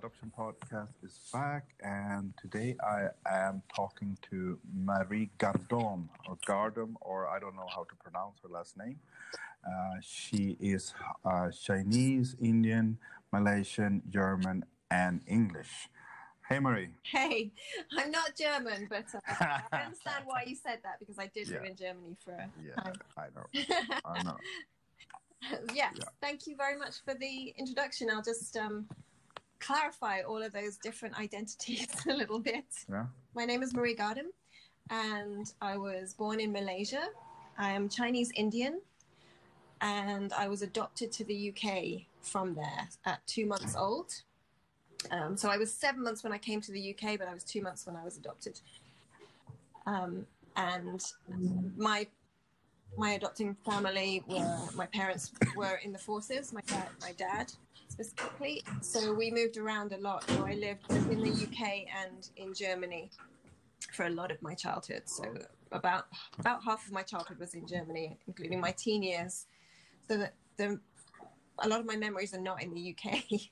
Adoption Podcast is back, and today I am talking to Marie Gardon, or Gardam, or I don't know how to pronounce her last name. She is Chinese, Indian, Malaysian, German, and English. Hey, Marie. Hey, I'm not German, but I understand why you said that, because I did live in Germany for a time. I know. I know. Yes, thank you very much for the introduction. I'll just clarify all of those different identities a little bit. Yeah. My name is Marie Gardam, and I was born in Malaysia. I am Chinese Indian, and I was adopted to the UK from there at 2 months old. So I was 7 months when I came to the UK, but I was 2 months when I was adopted. And my adopting family my parents were in the forces, my dad specifically. So we moved around a lot. So I lived both in the UK and in Germany for a lot of my childhood. So about half of my childhood was in Germany, including my teen years. So that a lot of my memories are not in the UK.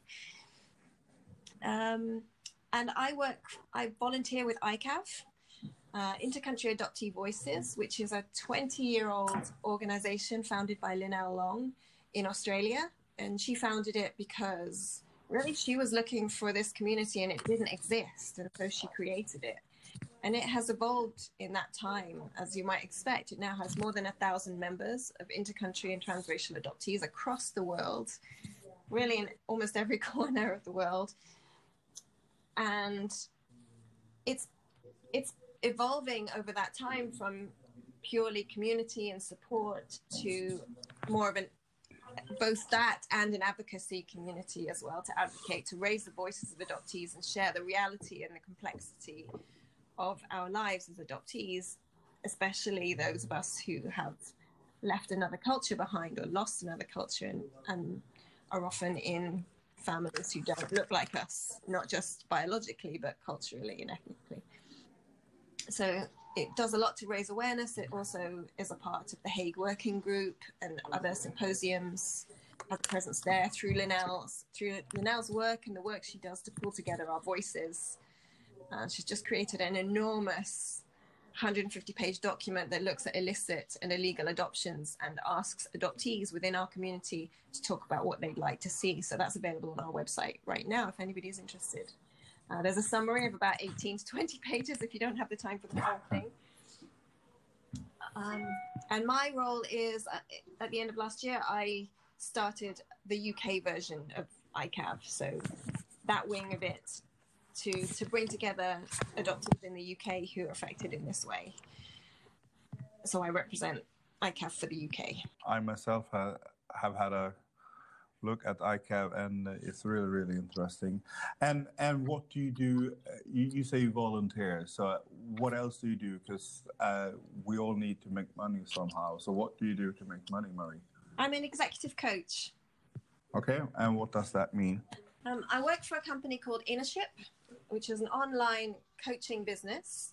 And I volunteer with ICAV, Intercountry Adoptee Voices, which is a 20-year-old organization founded by Lynelle Long in Australia. And she founded it because really she was looking for this community and it didn't exist. And so she created it. And it has evolved in that time, as you might expect. It now has more than 1,000 members of intercountry and transracial adoptees across the world, really in almost every corner of the world. And it's evolving over that time from purely community and support to more of both that and an advocacy community as well, to advocate, to raise the voices of adoptees and share the reality and the complexity of our lives as adoptees, especially those of us who have left another culture behind or lost another culture and are often in families who don't look like us, not just biologically, but culturally and ethnically. So it does a lot to raise awareness. It also is a part of the Hague Working Group and other symposiums, has a presence there through Lynelle's work and the work she does to pull together our voices. She's just created an enormous 150-page document that looks at illicit and illegal adoptions and asks adoptees within our community to talk about what they'd like to see. So that's available on our website right now if anybody's interested. There's a summary of about 18 to 20 pages if you don't have the time for the whole thing. And my role is, at the end of last year, I started the UK version of ICAV. So that wing of it to bring together adoptees in the UK who are affected in this way. So I represent ICAV for the UK. I myself have had a look at ICAV, and it's really, really interesting. And what do you do? You say you volunteer. So what else do you do? Because we all need to make money somehow. So what do you do to make money, Marie? I'm an executive coach. Okay, and what does that mean? I work for a company called Innership, which is an online coaching business.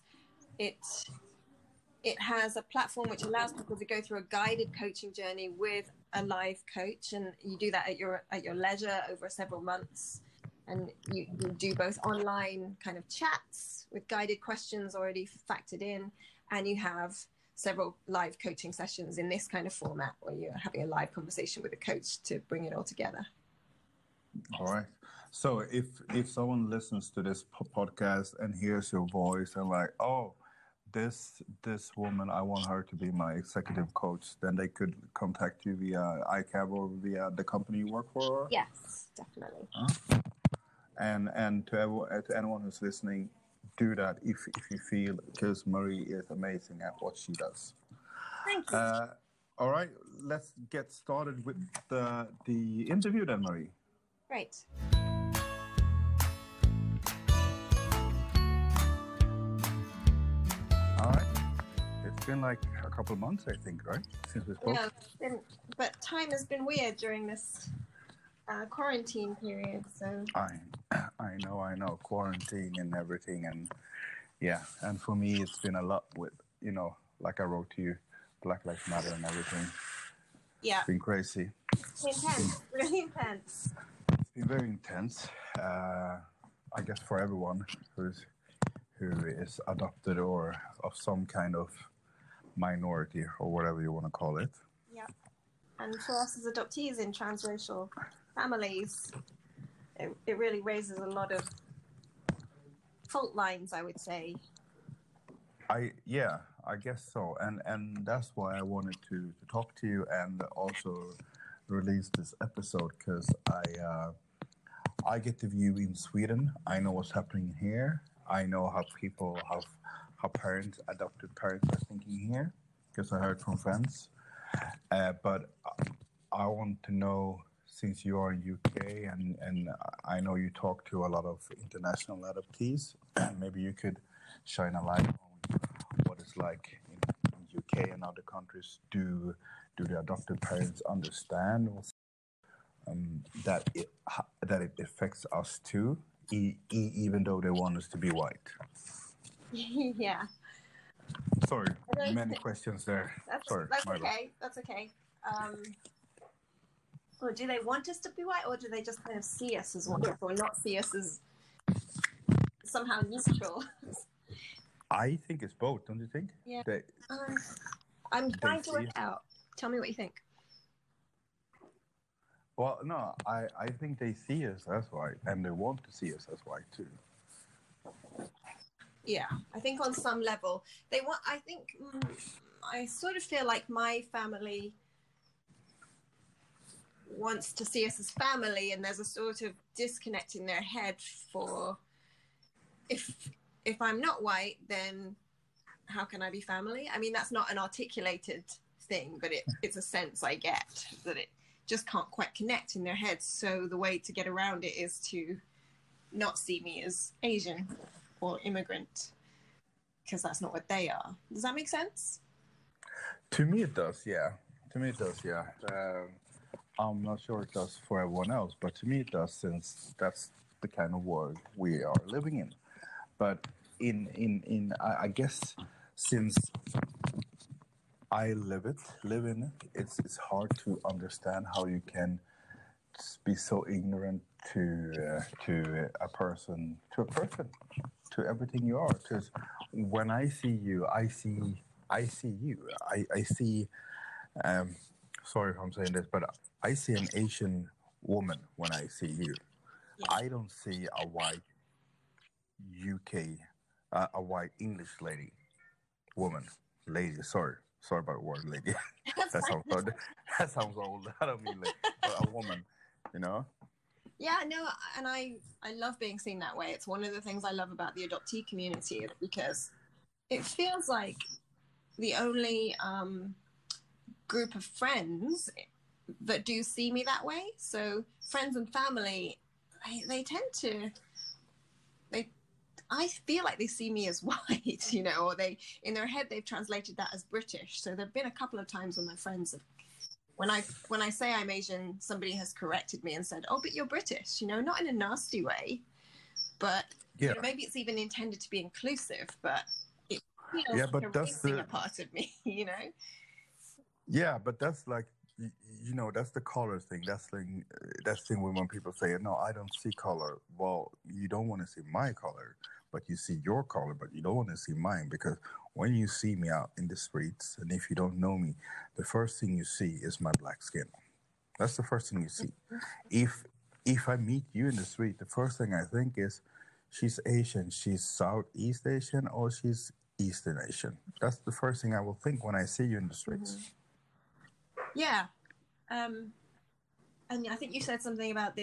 It has a platform which allows people to go through a guided coaching journey with a live coach, and you do that at your leisure over several months. And you do both online kind of chats with guided questions already factored in, and you have several live coaching sessions in this kind of format where you're having a live conversation with a coach to bring it all together. All right. So if someone listens to this podcast and hears your voice and like, oh, this woman, I want her to be my executive coach, then they could contact you via ICAV or via the company you work for? Yes, definitely. And to anyone who's listening, do that if you feel, because Marie is amazing at what she does. Thank you. All right, let's get started with the interview then, Marie. Great. All right. It's been like a couple of months, I think, right? Since we spoke. Yeah, but time has been weird during this quarantine period. So I know, quarantine and everything, and yeah, and for me, it's been a lot with, like I wrote to you, Black Lives Matter and everything. Yeah. It's been crazy. Intense, really intense. been very intense. I guess for everyone who is adopted or of some kind of minority or whatever you want to call it. Yeah. And for us as adoptees in transracial families, it really raises a lot of fault lines, I would say. I guess so, and that's why I wanted to talk to you and also release this episode, because I get the view in Sweden. I know what's happening here. I know how people how parents, adopted parents, are thinking here, because I heard from friends. But I want to know, since you are in UK and I know you talk to a lot of international adoptees, maybe you could shine a light on what it's like in UK and other countries. Do the adopted parents understand that it affects us too, even though they want us to be white? Yeah. Sorry, many questions there. That's okay. That's okay. Or do they want us to be white, or do they just kind of see us as white, or not see us as somehow neutral? I think it's both, don't you think? Yeah. I'm trying to work out. Tell me what you think. Well, no, I think they see us as white, and they want to see us as white too. Yeah, I think on some level they want. I think I sort of feel like my family wants to see us as family, and there's a sort of disconnect in their head for if I'm not white, then how can I be family? I mean, that's not an articulated thing, but it's a sense I get that it just can't quite connect in their heads. So the way to get around it is to not see me as Asian or immigrant, because that's not what they are. Does that make sense? To me it does, yeah. I'm not sure it does for everyone else, but to me it does, since that's the kind of world we are living in. But I guess since I live in it, it's hard to understand how you can be so ignorant to a person, to everything you are. Because when I see you, I see you. I see. Sorry if I'm saying this, but I see an Asian woman when I see you. Yeah. I don't see a white UK, a white English lady. Sorry about the word lady. that sounds old. I don't mean a woman, you know? Yeah, no, and I love being seen that way. It's one of the things I love about the adoptee community, because it feels like the only group of friends that do see me that way. So friends and family, they tend to, I feel like they see me as white, you know, or in their head they've translated that as British. So there've been a couple of times when my friends have, when I say I'm Asian, somebody has corrected me and said, "Oh, but you're British," you know, not in a nasty way, but you know, maybe it's even intended to be inclusive, but it feels like erasing a part of me, you know? Yeah, but that's like, you know, that's the color thing. That's thing when people say, "No, I don't see color." Well, you don't want to see my color, but you see your color, but you don't want to see mine, because when you see me out in the streets, and if you don't know me, the first thing you see is my black skin. That's the first thing you see. If I meet you in the street, the first thing I think is, she's Asian, she's Southeast Asian, or she's Eastern Asian. That's the first thing I will think when I see you in the streets. Mm-hmm. Yeah. And I think you said something about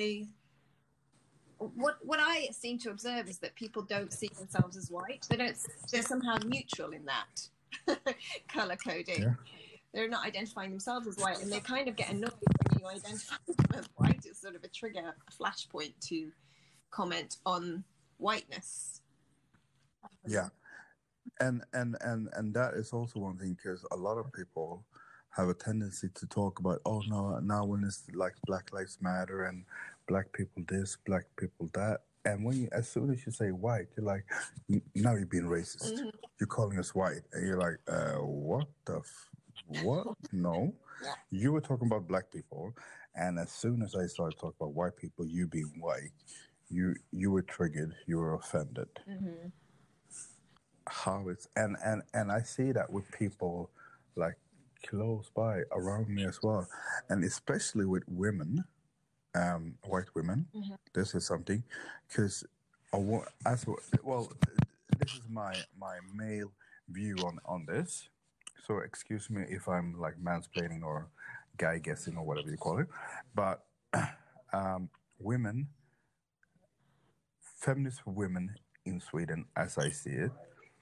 what I seem to observe is that people don't see themselves as white. They're somehow neutral in that color coding. Yeah. They're not identifying themselves as white, and they kind of get annoyed when you identify them as white. It's sort of a trigger, a flashpoint to comment on whiteness. Yeah. And that is also one thing, because a lot of people have a tendency to talk about, oh no, now when it's like Black Lives Matter and black people this, black people that, and when as soon as you say white, you're like, now you're being racist. Mm-hmm. You're calling us white, and you're like, what? No. You were talking about black people, and as soon as I started talking about white people, you being white, you were triggered, you were offended. Mm-hmm. How it's and I see that with people like close by around me as well, and especially with women, white women. Mm-hmm. This is something because as well, this is my male view on this. So excuse me if I'm like mansplaining or guy guessing or whatever you call it, but women, feminist women in Sweden, as I see it,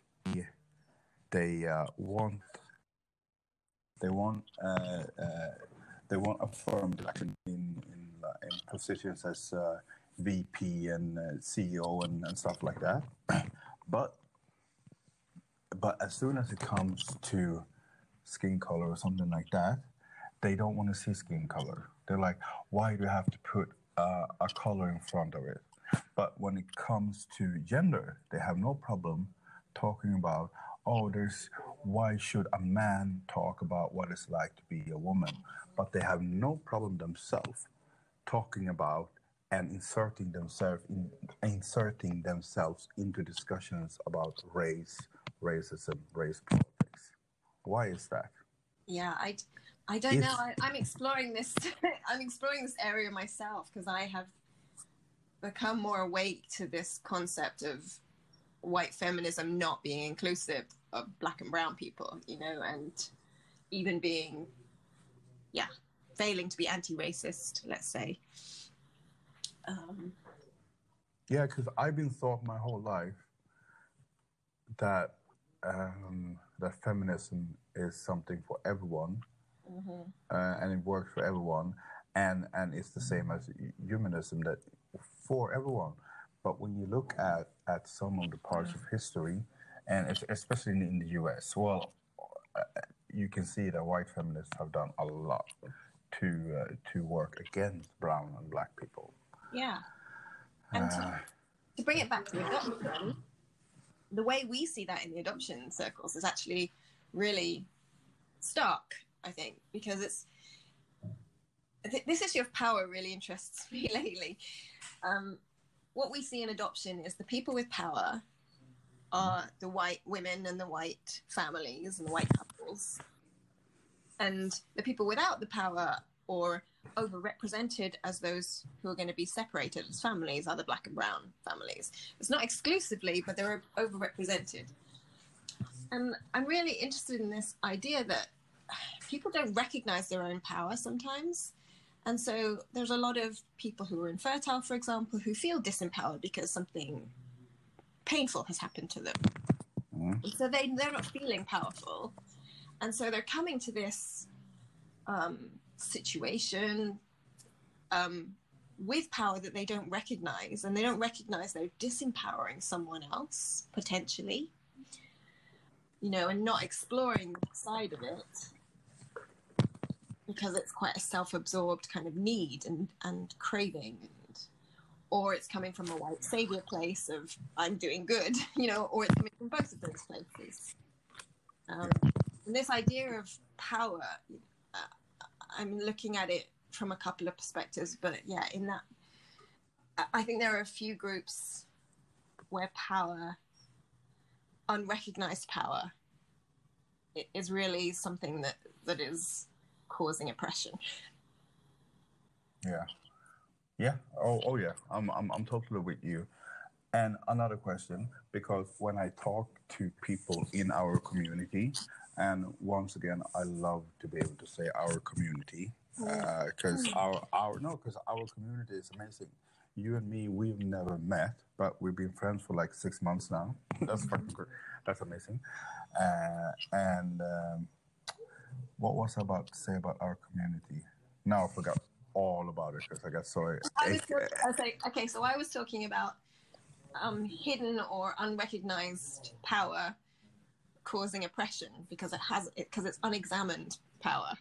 they want they want uh, uh, they want affirmed like in positions as VP and CEO and stuff like that. but as soon as it comes to skin color or something like that, they don't want to see skin color. They're like, why do you have to put a color in front of it? But when it comes to gender, they have no problem talking about, oh, why should a man talk about what it's like to be a woman? But they have no problem themselves talking about and inserting themselves into discussions about race, racism, race politics. Why is that? Yeah, I don't know. I'm exploring this. I'm exploring this area myself because I have become more awake to this concept of white feminism not being inclusive of black and brown people, and even being, failing to be anti-racist, let's say. Yeah, because I've been taught my whole life that that feminism is something for everyone, and it works for everyone, and it's the same as humanism, that for everyone. But when you look at some of the parts of history, and especially in the U.S., well, you can see that white feminists have done a lot to work against brown and black people. Yeah, and to bring it back to adoption, the way we see that in the adoption circles is actually really stark, I think, because this issue of power really interests me lately. What we see in adoption is the people with power are the white women and the white families and the white couples. And the people without the power or overrepresented as those who are going to be separated as families are the black and brown families. It's not exclusively, but they're overrepresented. And I'm really interested in this idea that people don't recognize their own power sometimes. And so there's a lot of people who are infertile, for example, who feel disempowered because something painful has happened to them. Mm. So they're not feeling powerful. And so they're coming to this situation with power that they don't recognize, and they don't recognize they're disempowering someone else, potentially, and not exploring the side of it, because it's quite a self-absorbed kind of need and craving, or it's coming from a white savior place of I'm doing good, or it's coming from both of those places. And this idea of power, I'm looking at it from a couple of perspectives, but yeah, in that, I think there are a few groups where power, unrecognized power, is really something that is causing oppression. Yeah. Oh yeah. I'm totally with you. And another question, because when I talk to people in our community, and once again, I love to be able to say our community, because our community is amazing. You and me, we've never met, but we've been friends for like 6 months now. That's fucking good. That's amazing. What was I about to say about our community? Now I forgot all about it because I got so. So I was talking about hidden or unrecognized power causing oppression because it's unexamined power.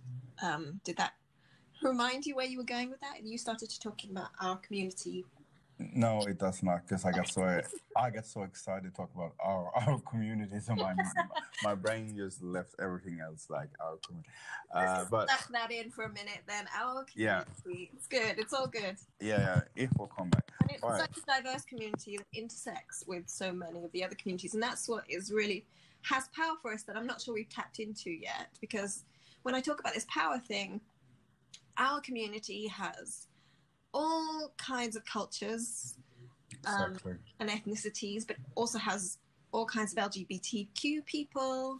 Did that remind you where you were going with that? You started to talking about our community. No, it does not, because I get so excited to talk about our community, so my brain just left everything else like our community. But Stuck that in for a minute, then our community. It's good. It's all good. Yeah, it will come back. And it's such a diverse community that intersects with so many of the other communities, and that's what is really has power for us that I'm not sure we've tapped into yet. Because when I talk about this power thing, our community has all kinds of cultures and ethnicities, but also has all kinds of LGBTQ people,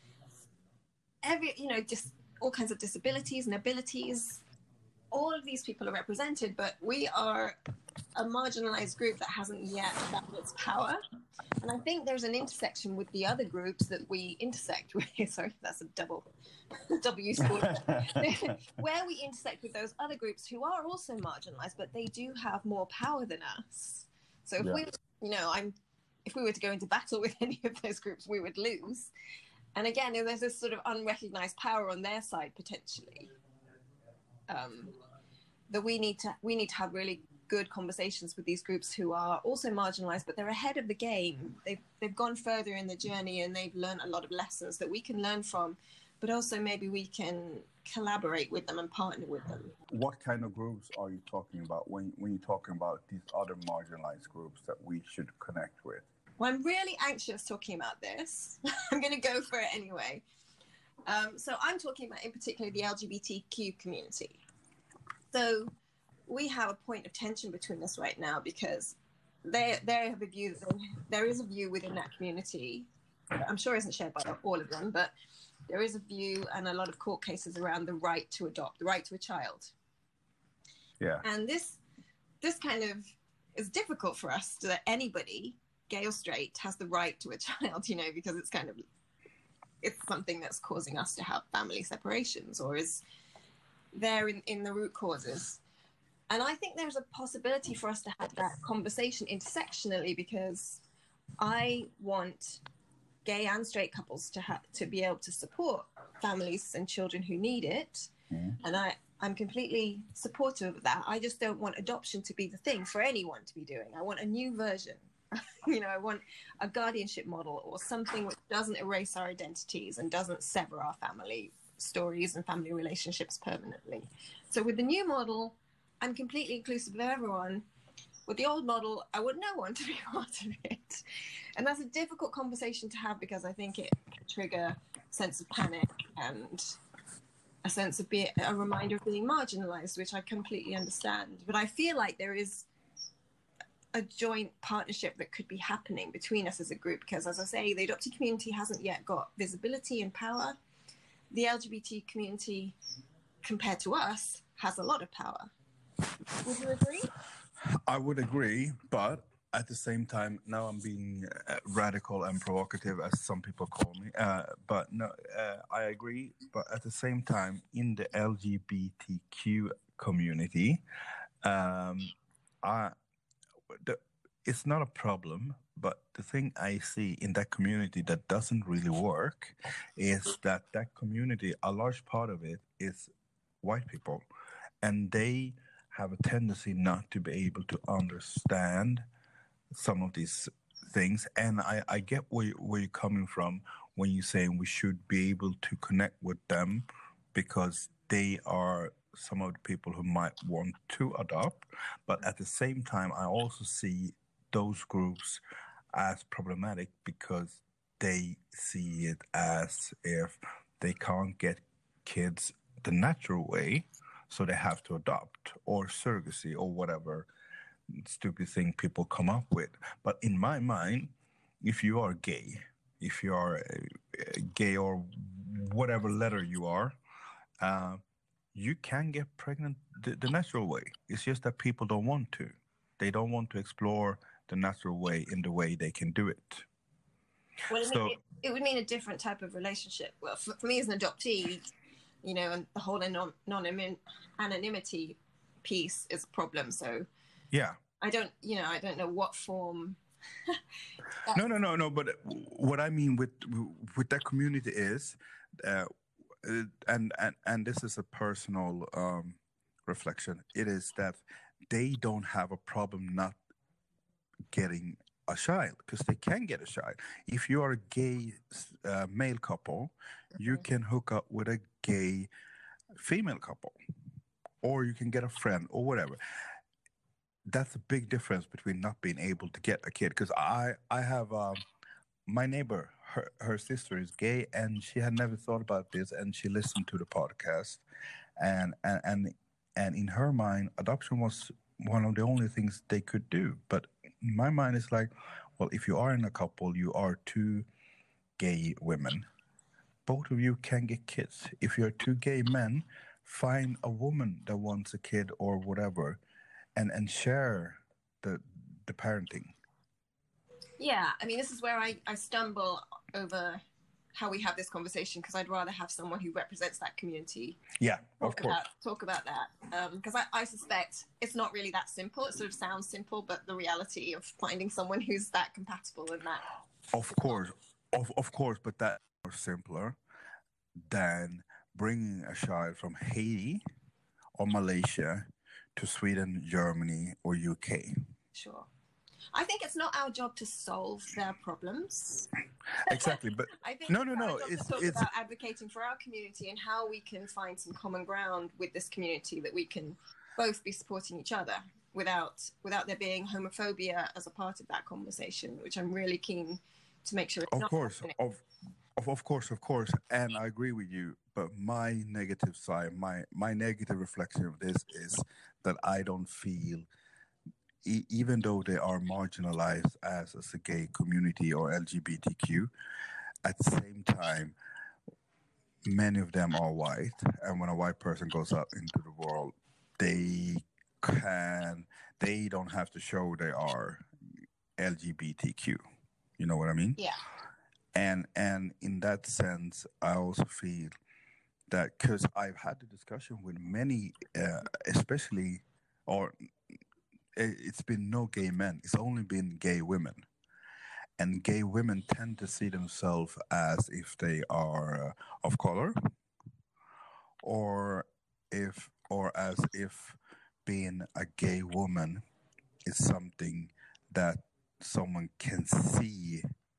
just all kinds of disabilities and abilities. All of these people are represented, but we are a marginalized group that hasn't yet found its power. And I think there's an intersection with the other groups that we intersect with. Sorry, that's a double use word. Where we intersect with those other groups who are also marginalized, but they do have more power than us. So if if we were to go into battle with any of those groups, we would lose. And again, there's this sort of unrecognized power on their side potentially. That we need to have really good conversations with these groups who are also marginalized, but they're ahead of the game. They've gone further in the journey and they've learned a lot of lessons that we can learn from, but also maybe we can collaborate with them and partner with them. What kind of groups are you talking about when you're talking about these other marginalized groups that we should connect with? Well, I'm really anxious talking about this. I'm going to go for it anyway. So I'm talking about in particular the LGBTQ community. So we have a point of tension between us right now because they have a view that there is a view within that community. I'm sure isn't shared by all of them, but there is a view and a lot of court cases around the right to adopt, the right to a child. Yeah. And this kind of is difficult for us that anybody, gay or straight, has the right to a child, because it's something that's causing us to have family separations or is there in the root causes. And I think there's a possibility for us to have that conversation intersectionally, because I want gay and straight couples to be able to support families and children who need it. And I'm completely supportive of that. I just don't want adoption to be the thing for anyone to be doing. I want a new version. I want a guardianship model or something which doesn't erase our identities and doesn't sever our family stories and family relationships permanently. So with the new model, I'm completely inclusive of everyone. With the old model, I want no one to be part of it. And that's a difficult conversation to have because I think it can trigger a sense of panic and a sense of a reminder of being marginalized, which I completely understand. But I feel like there is a joint partnership that could be happening between us as a group, because as I say, the adoptee community hasn't yet got visibility and power. The LGBT community, compared to us, has a lot of power. Would you agree? I would agree, but at the same time, now I'm being radical and provocative, as some people call me. But no, I agree. But at the same time, in the LGBTQ community, it's not a problem. But the thing I see in that community that doesn't really work is that community, a large part of it is white people, and they have a tendency not to be able to understand some of these things. And I get where you're coming from when you're saying we should be able to connect with them because they are some of the people who might want to adopt. But at the same time, I also see those groups as problematic because they see it as if they can't get kids the natural way, so they have to adopt or surrogacy or whatever stupid thing people come up with. But in my mind, if you are gay, gay or whatever letter you are, you can get pregnant the natural way. It's just that people don't want to. They don't want to explore the natural way in the way they can do it. Well, it would mean a different type of relationship. Well, for me as an adoptee, and the whole anonymity piece is a problem. So yeah, I don't know what form. No. But what I mean with that community is, and this is a personal reflection. It is that they don't have a problem not getting a child, because they can get a child. If you are a gay male couple, you can hook up with a gay female couple, or you can get a friend or whatever. That's a big difference between not being able to get a kid. Because I have my neighbor, her sister is gay, and she had never thought about this, and she listened to the podcast, and in her mind, adoption was one of the only things they could do. But in my mind, it's like, well, if you are in a couple, you are two gay women. Both of you can get kids. If you're two gay men, find a woman that wants a kid or whatever, and share the parenting. Yeah, I mean, this is where I stumble over how we have this conversation, because I'd rather have someone who represents that community. Yeah, of course. Talk about that, because I suspect it's not really that simple. It sort of sounds simple, but the reality of finding someone who's that compatible and that. Of course, but that's more simpler than bringing a child from Haiti or Malaysia to Sweden, Germany, or UK. Sure. I think it's not our job to solve their problems. Exactly, but I think no. It's about advocating for our community and how we can find some common ground with this community, that we can both be supporting each other without there being homophobia as a part of that conversation, which I'm really keen to make sure it's not happening. Of course, and I agree with you. But my negative side, my negative reflection of this is that I don't feel, even though they are marginalized as a gay community or LGBTQ, at the same time, many of them are white. And when a white person goes out into the world, they don't have to show they are LGBTQ. You know what I mean? Yeah. And in that sense, I also feel that, because I've had the discussion with many, especially, or it's been no gay men, it's only been gay women. And gay women tend to see themselves as if they are of color, or as if being a gay woman is something that someone can see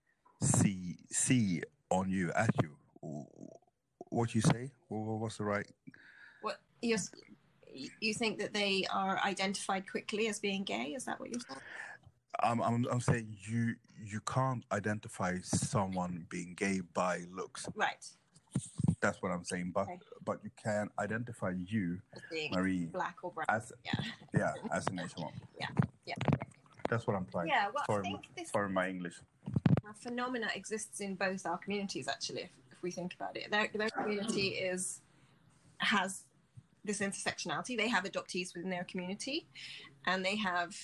on you, at you. What you say? What's the right? What you think that they are identified quickly as being gay? Is that what you're saying? I'm saying you can't identify someone being gay by looks. Right. That's what I'm saying. But you can identify you, as being Marie, black or brown. as as an Asian woman. Yeah. That's what I'm trying. Yeah. Well, sorry, I think this my English. phenomena exists in both our communities. Actually, if we think about it, their community has this intersectionality. They have adoptees within their community, and they have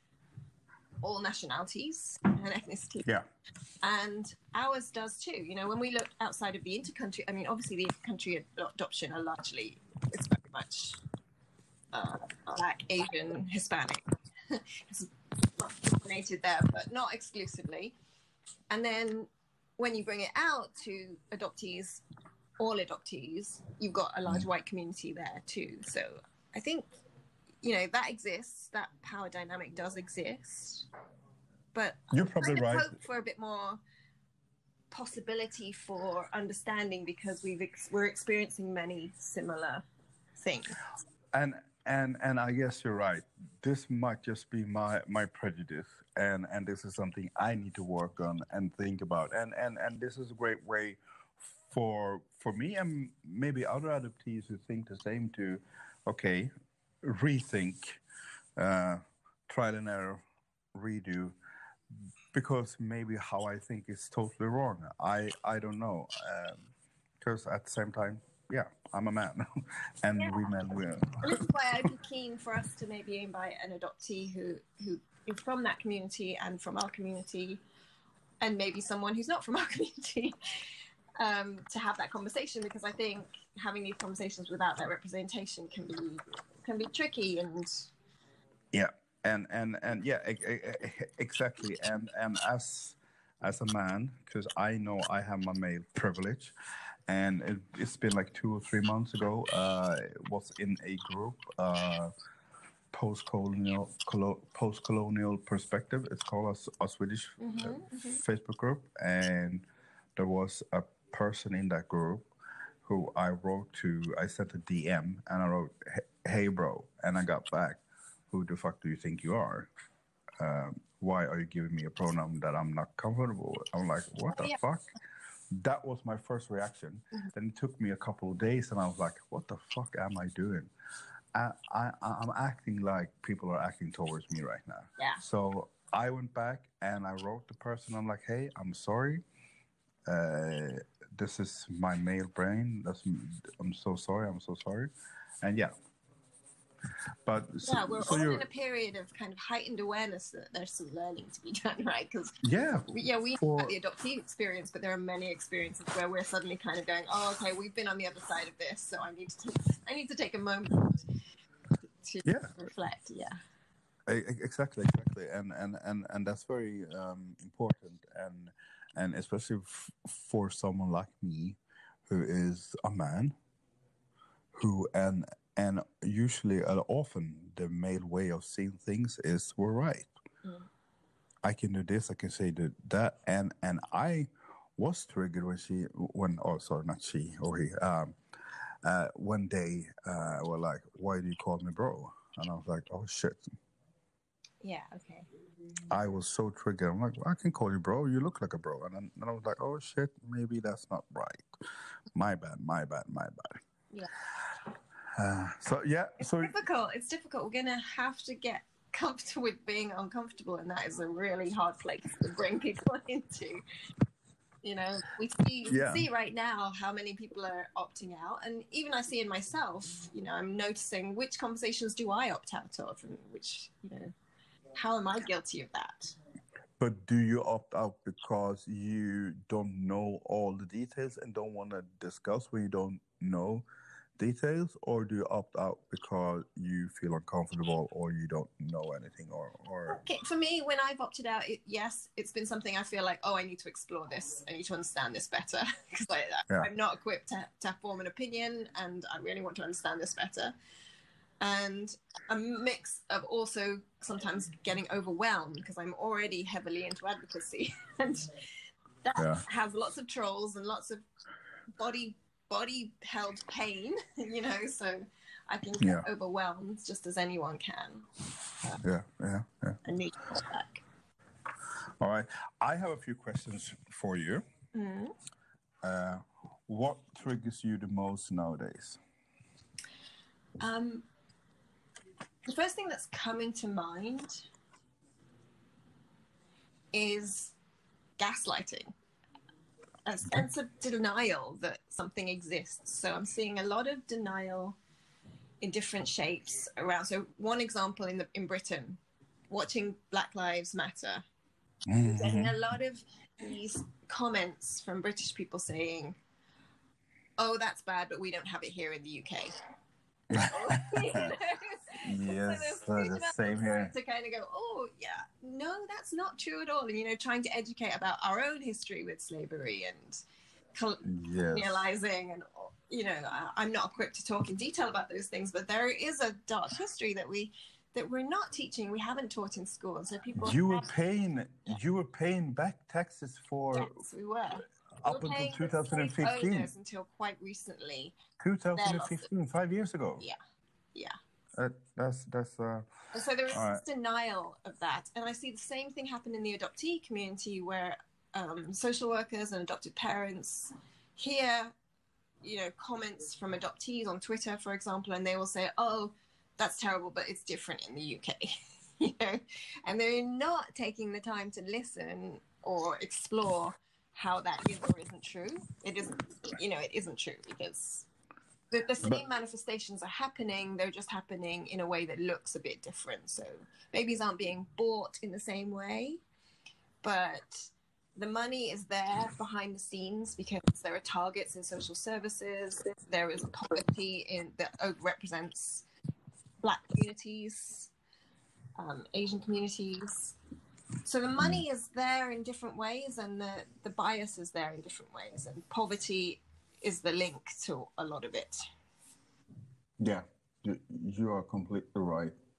all nationalities and ethnicity. Yeah. And ours does too. You know, when we look outside of the intercountry, I mean, obviously the intercountry adoption are largely, it's very much Black, Asian, Hispanic. It's dominated there, but not exclusively. And then when you bring it out to adoptees, all adoptees, you've got a large white community there too. So I think, you know, that exists, that power dynamic does exist, but you're probably right. Hope for a bit more possibility for understanding, because we're experiencing many similar things. And I guess you're right. This might just be my prejudice, and this is something I need to work on and think about. And this is a great way for me and maybe other adoptees who think the same to, okay, rethink, trial and error, redo, because maybe how I think is totally wrong. I don't know, because at the same time, yeah, I'm a man, and we men will. And this is why I'd be keen for us to maybe invite an adoptee who is from that community and from our community, and maybe someone who's not from our community, to have that conversation, because I think having these conversations without that representation can be tricky. And yeah, and yeah, exactly. And as a man, because I know I have my male privilege, and it's been like 2 or 3 months ago. Was in a group post-colonial perspective. It's called a Swedish Facebook group, and there was a person in that group who I sent a DM and I wrote, "Hey bro," and I got back, "Who the fuck do you think you are? Why are you giving me a pronoun that I'm not comfortable with?" I'm like, what the fuck? That was my first reaction. Then it took me a couple of days, and I was like, what the fuck am I doing? I'm acting like people are acting towards me right now. Yeah. So I went back and I wrote the person. I'm like, "Hey, I'm sorry. This is my male brain. I'm so sorry. I'm so sorry." And yeah. But we're all in a period of kind of heightened awareness that there's some learning to be done, right? Because we know about the adoptee experience, but there are many experiences where we're suddenly kind of going, "Oh, okay, we've been on the other side of this, so I need to take a moment to reflect." Yeah. Exactly, and that's very important, and especially for someone like me, who is a man, who and usually often the male way of seeing things is we're right. I can do this, I can say that, and I was triggered when they were like, "Why do you call me bro?" And I was like, "Oh shit." Yeah, okay. I was so triggered. I'm like, "I can call you bro. You look like a bro." And then I was like, "Oh shit, maybe that's not right. My bad." Yeah. It's difficult. We're gonna have to get comfortable with being uncomfortable, and that is a really hard place to bring people into. You know, we see right now how many people are opting out, and even I see in myself. You know, I'm noticing which conversations do I opt out of, and which, you know, how am I guilty of that? But do you opt out because you don't know all the details and don't want to discuss when you don't know details, or do you opt out because you feel uncomfortable or you don't know anything, or Okay, for me, when I've opted out, it's been something I feel like, oh, I need to explore this, I need to understand this better, because I'm not equipped to form an opinion, and I really want to understand this better. And a mix of also sometimes getting overwhelmed because I'm already heavily into advocacy, and that has lots of trolls and lots of body held pain, you know, so I can get overwhelmed just as anyone can. I need to pull back. All right, I have a few questions for you. What triggers you the most nowadays? The first thing that's coming to mind is gaslighting. A sense of denial that something exists. So I'm seeing a lot of denial in different shapes around. So one example in Britain, watching Black Lives Matter, getting a lot of these comments from British people saying, "Oh, that's bad, but we don't have it here in the UK." Yes, the same here. To kind of go, "Oh yeah, no, that's not true at all," and, you know, trying to educate about our own history with slavery and colonializing, and, you know, I'm not equipped to talk in detail about those things, but there is a dark history that we're not teaching, we haven't taught in school, and so people. You were paying back taxes for. Yes, we were. Up until 2015. Until quite recently. 2015, 5 years ago. Yeah. That's. So there is this denial of that, and I see the same thing happen in the adoptee community, where social workers and adopted parents hear, you know, comments from adoptees on Twitter, for example, and they will say, "Oh, that's terrible, but it's different in the UK," you know, and they're not taking the time to listen or explore how that is or isn't true. It isn't, you know, it isn't true, because the same manifestations are happening. They're just happening in a way that looks a bit different. So babies aren't being bought in the same way, but the money is there behind the scenes because there are targets in social services. There is poverty that overrepresents Black communities, Asian communities. So the money is there in different ways, and the bias is there in different ways, and poverty is the link to a lot of it. Yeah, you are completely right.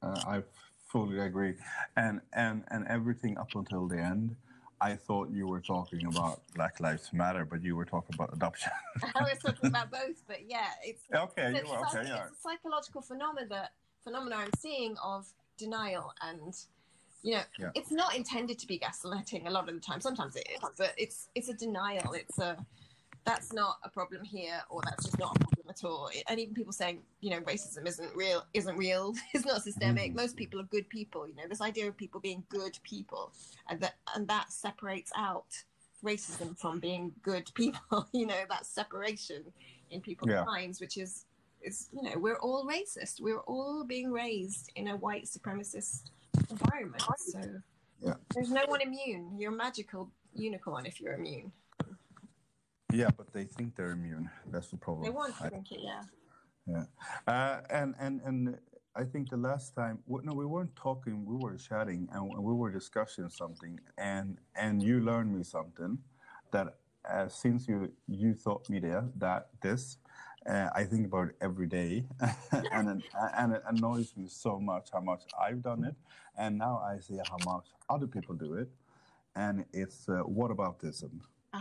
I fully agree, and everything up until the end, I thought you were talking about Black Lives Matter, but you were talking about adoption. I was talking about both, but yeah, Okay, you were okay. Yeah. It's a psychological phenomena I'm seeing of denial, and Yeah. it's not intended to be gaslighting a lot of the time. Sometimes it is, but it's a denial. That's not a problem here, or that's just not a problem at all. And even people saying, racism isn't real, it's not systemic. Mhm. Most people are good people. This idea of people being good people, and that separates out racism from being good people. That separation in people's Yeah. minds, which is we're all racist. We're all being raised in a white supremacist environment. So Yeah. there's no one immune. You're a magical unicorn if you're immune. Yeah, but they think they're immune. That's the problem. They want to think it, yeah. Yeah. And I think the last time, we weren't talking, we were chatting and we were discussing something, and you learned me something that since you taught me this, I think about it every day, and it annoys me so much how much I've done it, and now I see how much other people do it, and it's whataboutism.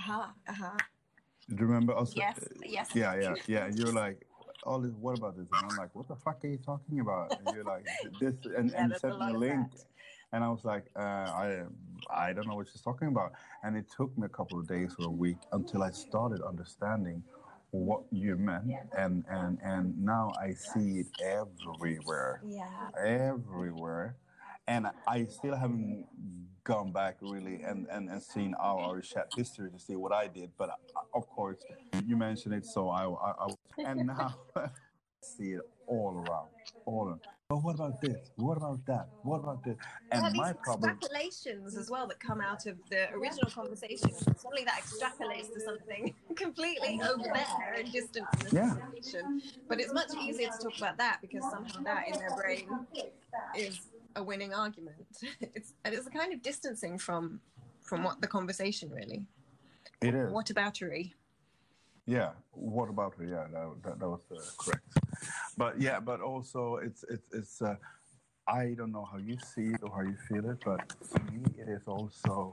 Do you remember us? Yes. Yeah. You're like, all this, what about this? And I'm like, what the fuck are you talking about? And you're like, this, and you sent me a link. And I was like, I don't know what she's talking about. And it took me a couple of days or a week until I started understanding what you meant. And now I see it everywhere. Yeah. Everywhere. And I still haven't gone back really and seen our chat history to see what I did. But of course, you mentioned it, so I and now I see it all around. But what about this? What about that? What about this? And my problem, extrapolations as well that come out of the original conversation. Suddenly that extrapolates to something completely over there and distant from the conversation. But it's much easier to talk about that because somehow that in their brain is a winning argument. It's a kind of distancing from what the conversation really. It is. What aboutery? Yeah, what about it? Yeah, that was correct. But also it's I don't know how you see it or how you feel it, but for me it is also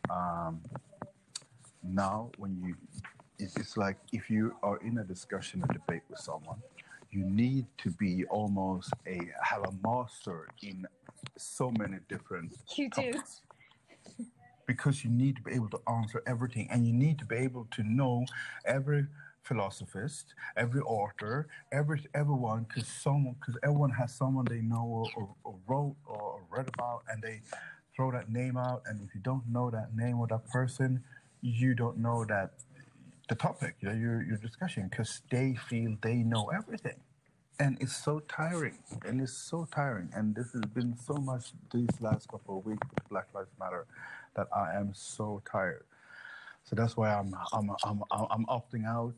now when it's like if you are in a discussion, a debate with someone, you need to be almost have a master in so many different topics. Because you need to be able to answer everything, and you need to be able to know every philosophist, every author, everyone, because everyone has someone they know or wrote or read about, and they throw that name out. And if you don't know that name or that person, you don't know that the topic you're discussing, because they feel they know everything. And it's so tiring. And this has been so much these last couple of weeks with Black Lives Matter that I am so tired. So that's why I'm opting out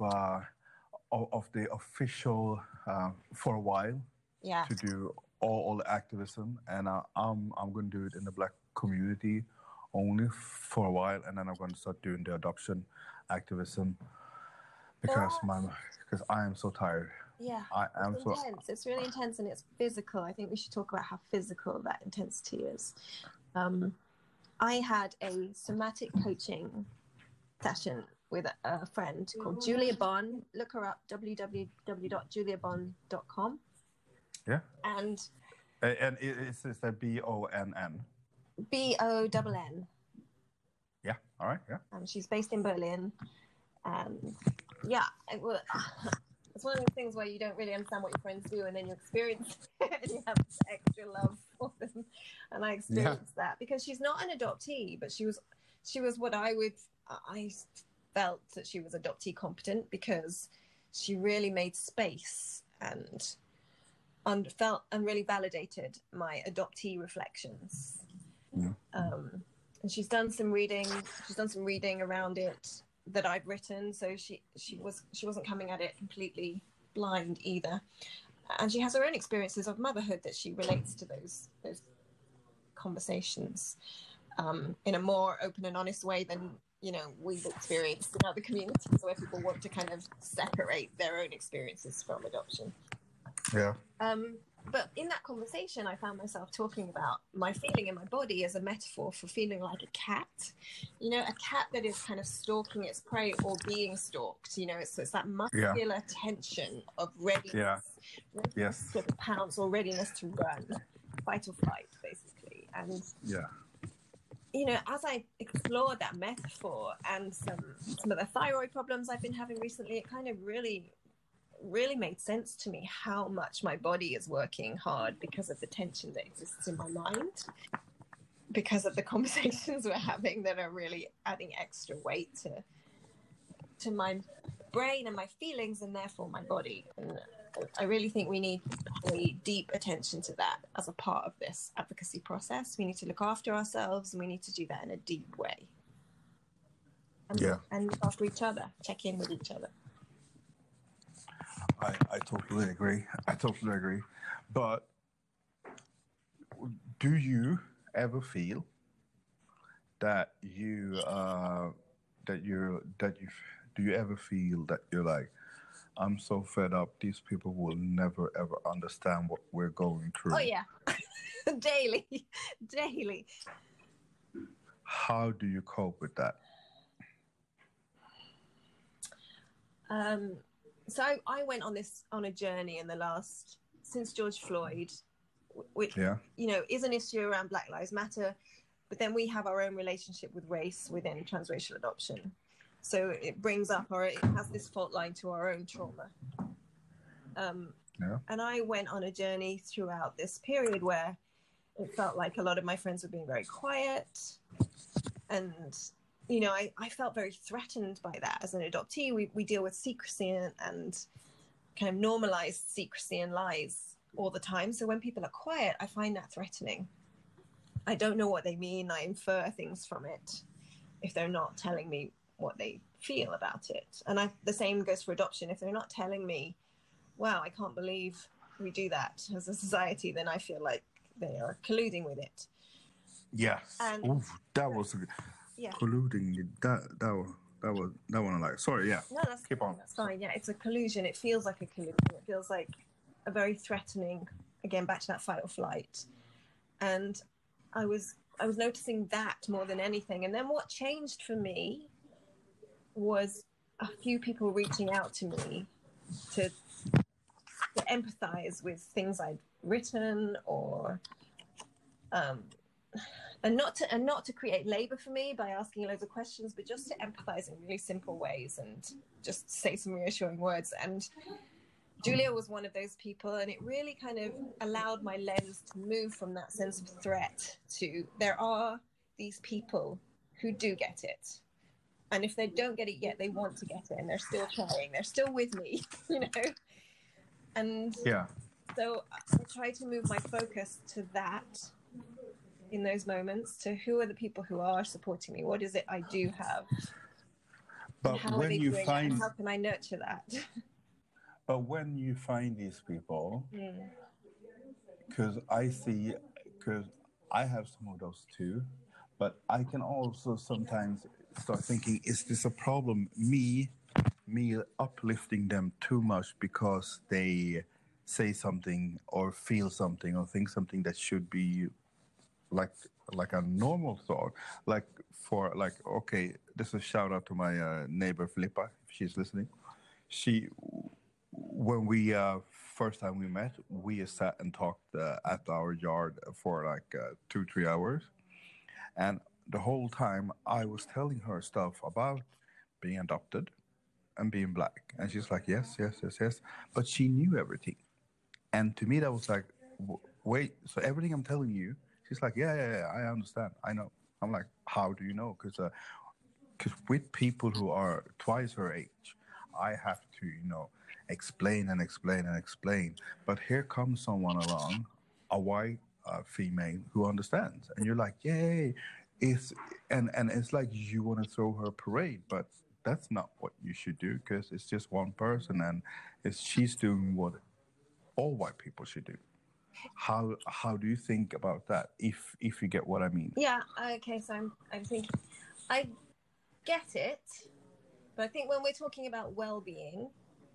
of the official for a while. Yeah. To do all the activism, and I'm going to do it in the Black community only for a while, and then I'm going to start doing the adoption activism because I am so tired. Yeah, it's intense. It's really intense, and it's physical. I think we should talk about how physical that intensity is. I had a somatic coaching session with a friend called Julia Bonn. Look her up, www.juliabonn.com. Yeah. And it's that BONN. BONN. Yeah. All right. Yeah. She's based in Berlin. Yeah. It's one of those things where you don't really understand what your friends do, and then you experience it and you have extra love for them. And I experienced that because she's not an adoptee, but she was what I felt that she was adoptee competent, because she really made space and felt and really validated my adoptee reflections. Yeah. And she's done some reading around it that I'd written, so she wasn't coming at it completely blind either, and she has her own experiences of motherhood that she relates to those conversations in a more open and honest way than we've experienced in other communities where people want to kind of separate their own experiences from adoption. Yeah. but in that conversation, I found myself talking about my feeling in my body as a metaphor for feeling like a cat. You know, a cat that is kind of stalking its prey or being stalked. You know, it's that muscular tension of readiness, readiness to pounce or readiness to run, fight or flight, basically. And you know, as I explored that metaphor and some of the thyroid problems I've been having recently, it kind of really made sense to me how much my body is working hard because of the tension that exists in my mind, because of the conversations we're having that are really adding extra weight to my brain and my feelings and therefore my body. And I really think we need a deep attention to that as a part of this advocacy process. We need to look after ourselves, and we need to do that in a deep way. And look after each other, check in with each other. I totally agree. But do you ever feel that do you ever feel that you're like, I'm so fed up, these people will never ever understand what we're going through? Oh yeah. daily. How do you cope with that? So I went on a journey since George Floyd, which you know is an issue around Black Lives Matter, but then we have our own relationship with race within transracial adoption. So it brings up, or it has this fault line to our own trauma. And I went on a journey throughout this period where it felt like a lot of my friends were being very quiet, and you know, I felt very threatened by that as an adoptee. We deal with secrecy and kind of normalized secrecy and lies all the time. So when people are quiet, I find that threatening. I don't know what they mean. I infer things from it if they're not telling me what they feel about it. And the same goes for adoption. If they're not telling me, wow, I can't believe we do that as a society, then I feel like they are colluding with it. Yes. That was colluding. That one. Like, sorry, yeah. No, keep on. That's fine. Yeah, it's a collusion. It feels like a collusion. It feels like a very threatening. Again, back to that fight or flight. And I was noticing that more than anything. And then what changed for me was a few people reaching out to me to empathize with things I'd written, or and not to create labor for me by asking loads of questions, but just to empathize in really simple ways and just say some reassuring words. And Julia was one of those people, and it really kind of allowed my lens to move from that sense of threat to, there are these people who do get it. And if they don't get it yet, they want to get it, and they're still trying. They're still with me, you know? And so I try to move my focus to that in those moments, to who are the people who are supporting me? What is it I do have? But how when you find... How can I nurture that? But when you find these people, because I have some of those too, but I can also sometimes start thinking, is this a problem? Me uplifting them too much because they say something or feel something or think something that should be like a normal thought. Okay, this is a shout out to my neighbor Filippa, if she's listening. When we first time we met, we sat and talked at our yard for like 2-3 hours, and the whole time I was telling her stuff about being adopted and being Black, and she's like, yes, but she knew everything. And to me that was like, wait, so everything I'm telling you? She's like, yeah, I understand, I know. I'm like, how do you know? Because with people who are twice her age, I have to, explain. But here comes someone along, a white female who understands, and you're like, yay! It's like you want to throw her a parade, but that's not what you should do, because it's just one person, and she's doing what all white people should do. How do you think about that, if you get what I mean? Yeah. Okay. So I'm thinking, I get it, but I think when we're talking about well-being,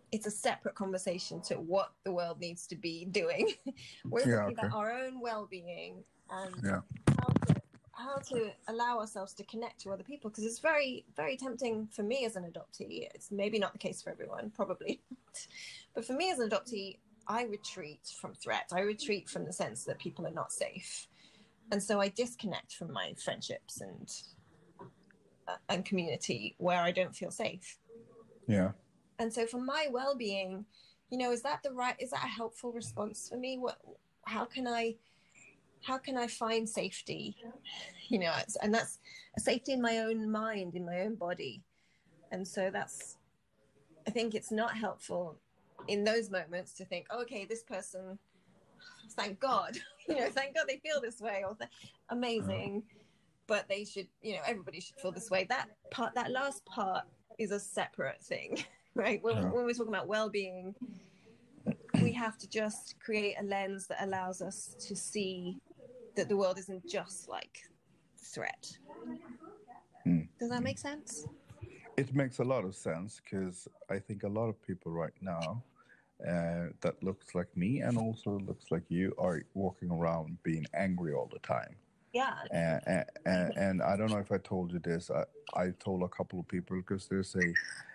it's a separate conversation to what the world needs to be doing. We're talking about our own well-being and how to allow ourselves to connect to other people, because it's very, very tempting for me as an adoptee. It's maybe not the case for everyone, probably not. But for me as an adoptee, I retreat from threat. I retreat from the sense that people are not safe. And so I disconnect from my friendships and community where I don't feel safe. Yeah. And so for my well-being, is that a helpful response for me? How can I find safety? And that's a safety in my own mind, in my own body. And so I think it's not helpful in those moments to think, oh, okay, this person, thank God, thank God they feel this way, or amazing, but they should, everybody should feel this way. That last part is a separate thing, right? When we're talking about well-being, we have to just create a lens that allows us to see that the world isn't just like threat. Does that make sense? It makes a lot of sense, because I think a lot of people right now that looks like me and also looks like you are walking around being angry all the time. Yeah. And I don't know if I told you this. I told a couple of people, because there's a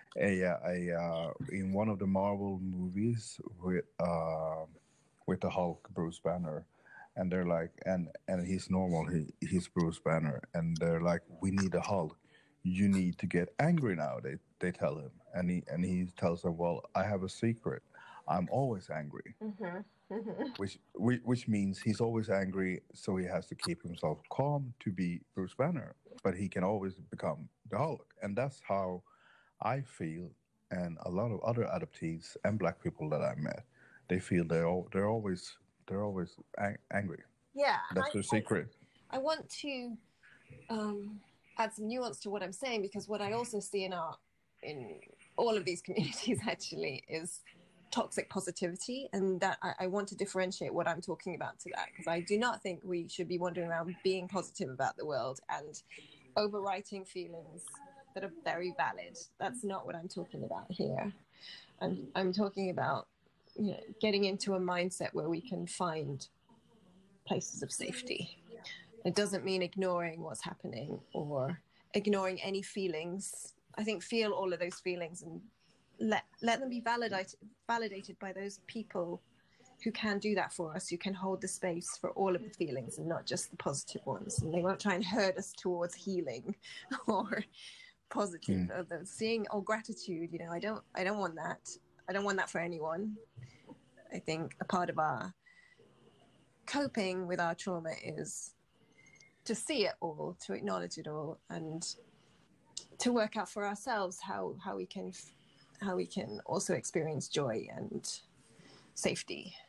in one of the Marvel movies with the Hulk, Bruce Banner, and they're like, and he's normal, he's Bruce Banner, and they're like, we need a Hulk. You need to get angry now. They tell him, and he tells them, well, I have a secret. I'm always angry. Which means he's always angry, so he has to keep himself calm to be Bruce Banner, but he can always become the Hulk. And that's how I feel, and a lot of other adoptees and Black people that I met, they feel they're always angry. Yeah, that's their secret. I want to add some nuance to what I'm saying, because what I also see in all of these communities actually is toxic positivity, and that I want to differentiate what I'm talking about to that, because I do not think we should be wandering around being positive about the world and overwriting feelings that are very valid. That's not what I'm talking about here. I'm talking about getting into a mindset where we can find places of safety. It doesn't mean ignoring what's happening or ignoring any feelings. I think feel all of those feelings and let them be validated by those people who can do that for us, who can hold the space for all of the feelings and not just the positive ones. And they won't try and herd us towards healing or positive seeing or gratitude. I don't want that. I don't want that for anyone. I think a part of our coping with our trauma is to see it all, to acknowledge it all, and to work out for ourselves how we can also experience joy and safety.